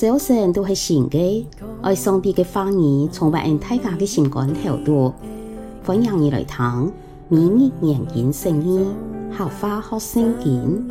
早晨都是新的，愛上帝的話語充滿大家的心肝頭度。歡迎你來聽每日研經聖經，合法學聖經。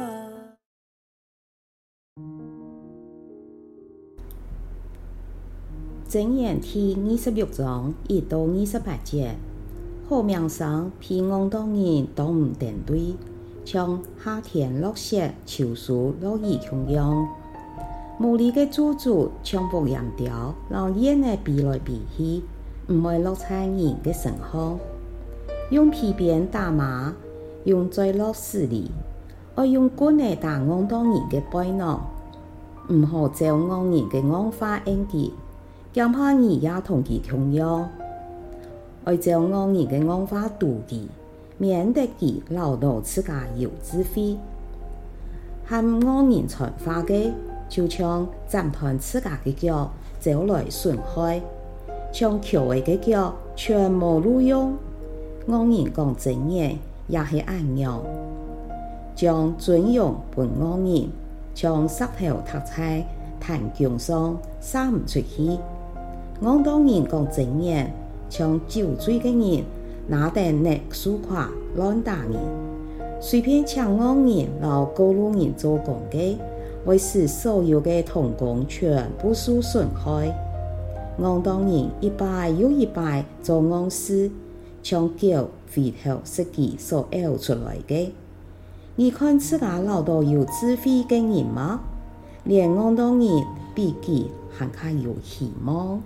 箴言第26章1到28節，好名聲比外邦人都唔登對，像夏天落雪，秋樹落葉同樣。無理的主子像牧羊鳥，讓煙的比來比去，唔會落在人的身上。用皮鞭打馬，用墜落死里，愛用棍來打外邦人的背囊，唔好照外人的惡法應記，驚怕你也同佢同樣。愛照外人的惡法妒忌，免得佢勞碌自家有智慧。和外人傳話的，就像斬斷自家的腳，走來損害；像翹位的腳，全無路用。外人講箴言，也是按樣，將尊榮分外人，像石頭踏在壇弓上，撒唔出去。外邦人講箴言，像酒醉的人，拿定躡蘇誇亂打人，隨便搶外人，讓過路人做工的。會使所有的同工全部受損害。外邦人一擺又一擺做惡事，像狗回頭食己所咬出來的。你看自家老多有智慧的人嗎？連外邦人比己還較有希望。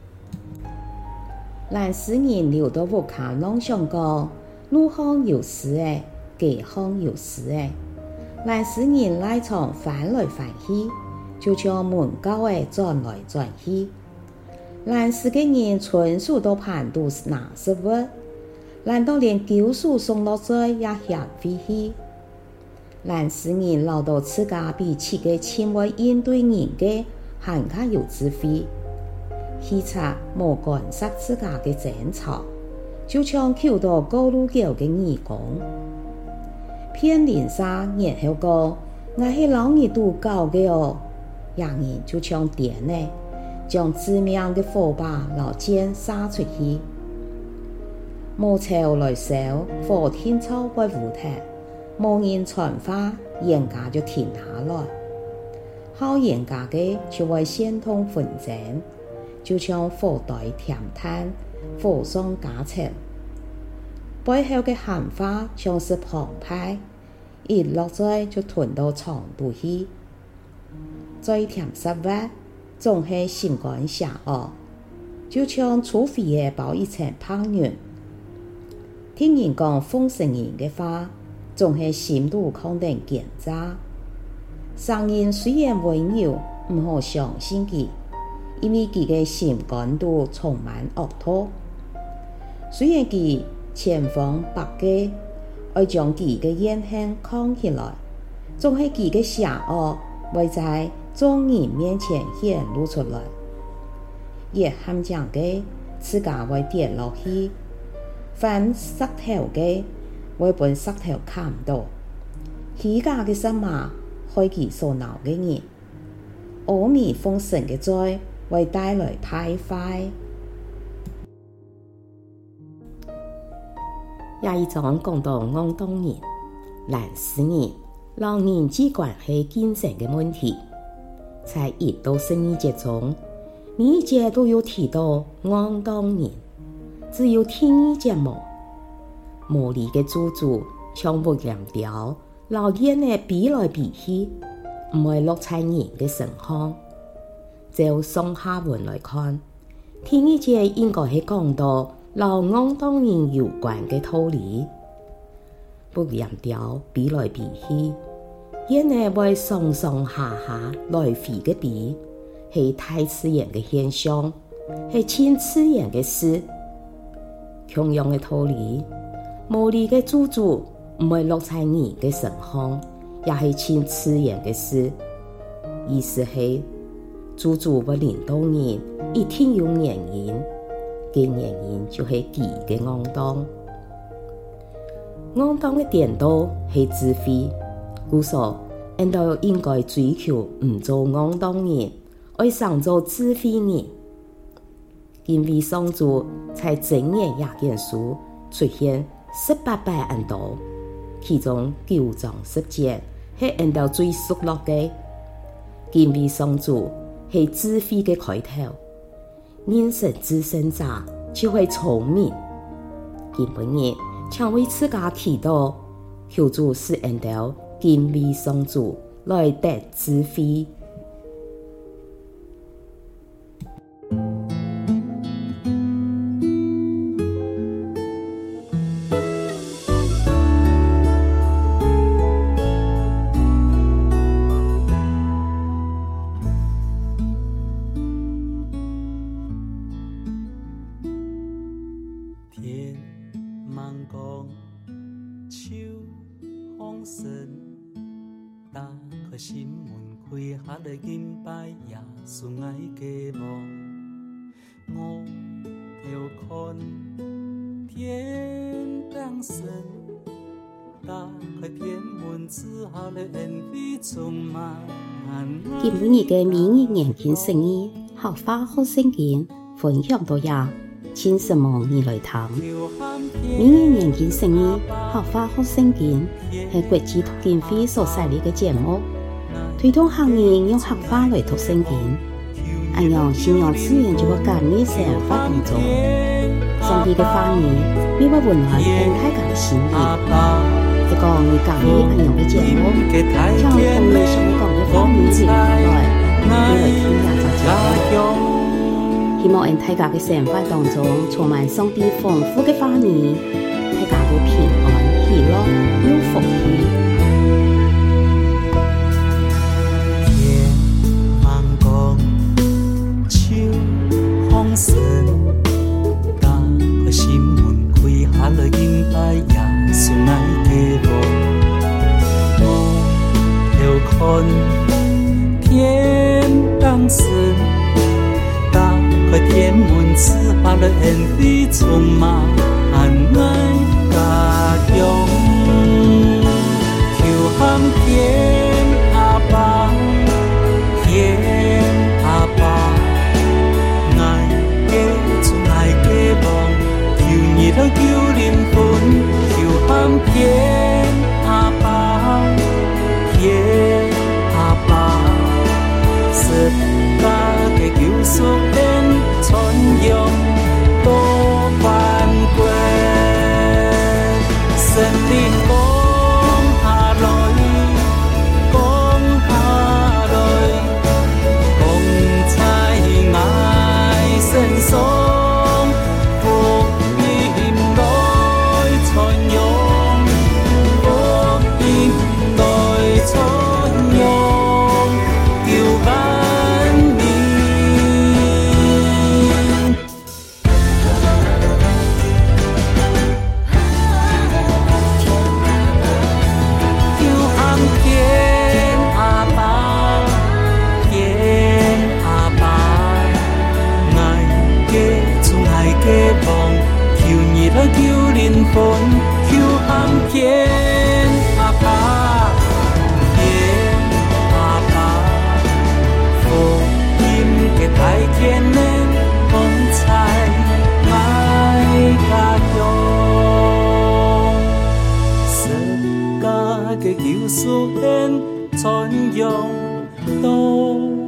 但使人流到無卡妄想講，路上有事誒，街上有事誒。但使人賴床翻來翻去，就像門鉤誒轉來轉去。但使個人純屬都盤都拿實物，難道連救贖送落在也嫌廢去？但使人老到自家比起個親為應對人嘅，還較有智慧。希察無干涉自家嘅爭吵，就像求到過路橋嘅義工。騙人沙然後講，我是老二度搞的哦，人人就像電呢，將致命的火把老箭撒出去。無潮來燒，火天草會烏塌，無人傳話，嚴家就停下來。好嚴家的就會先通紛爭，就像火堆添炭，火上加柴。背後的閒話像是澎湃，一落在就吞到腸肚去。再添實話，總是心肝邪惡，就像粗肥的包一層泡圓。聽人講風聲人的話，總是心肚肯定奸詐。商人雖然溫柔，唔好相信佢，因為佢的心肝都充滿惡毒。雖然佢千方百計愛將佢的言行扛起來，總是佢的邪惡會在眾人面前顯露出來。越喊講的自家會跌落去，翻石頭的會被石頭砍到。虛假的什麼害佢所鬧的人，阿彌奉神的罪會帶來敗壞。也一種講到外邦人、但使人、老人際關係競爭的問題，在1到12節中，每一節都有提到外邦人，只有第2節冇。無理的主子像牧羊鳥，老遠的比來比去，唔會落在人的身上。照上下文來看，第2節應該係講到老外邦人有關的道理。牧羊鳥比來比去，遠的會上上下下來回的比，是大自然的現象，是親自然的事。同樣的道理，無理的主子唔會落在人的身上，也是親自然的事。意思是主子會領導人，一定有原因。嘅原因就是佢嘅惡當，惡當嘅顛倒係智慧。故說，人都應該追求唔做惡當人， 愛上做智慧人。因為上主在整年雅典書出現18版恩道，其中9章10節是恩道最熟絡的。因為上主是智慧的開頭，認識至聖者就會聰明。今日請為自家祈禱，求主使恩道因為上主來得智慧。 天茫光，秋風生，打開心門，開下來敬拜耶穌愛嘅夢。我調看天當神，打開天門之後來恩惠充滿。 今日嘅每日研經聖言，學花學聖經，分享到呀。請什麼你來聽？每日研經聖言，學花學聖經，係國際讀經會所設立嘅節目，推動學人用學花來讀聖經。按樣信仰自然就會感染生活當中，上帝嘅話語，每位溫暖並大家嘅心靈。一個你感染按樣嘅節目，將同你想講嘅話語傳來，你來聽下就知道。希望在大家的生活當中充滿上帝豐富的話語，大家都平安喜樂有福氣。 天茫光，秋風生，打開心門，開下來敬拜耶穌愛嘅夢。我調看天當神，開天門之下來恩惠充滿愛家鄉，求喊天阿爸，天阿爸，愛嘅主愛嘅夢，求你來救靈魂，求喊天阿爸，天阿爸，十架嘅救贖。傳揚多萬國，神靈降下來，降下來，降在愛身上，福音來傳揚，福音來傳揚，叫救靈魂，求喊天阿爸，天阿爸，福音嘅大天呢，光彩愛家鄉，十架嘅救贖恩，傳揚到。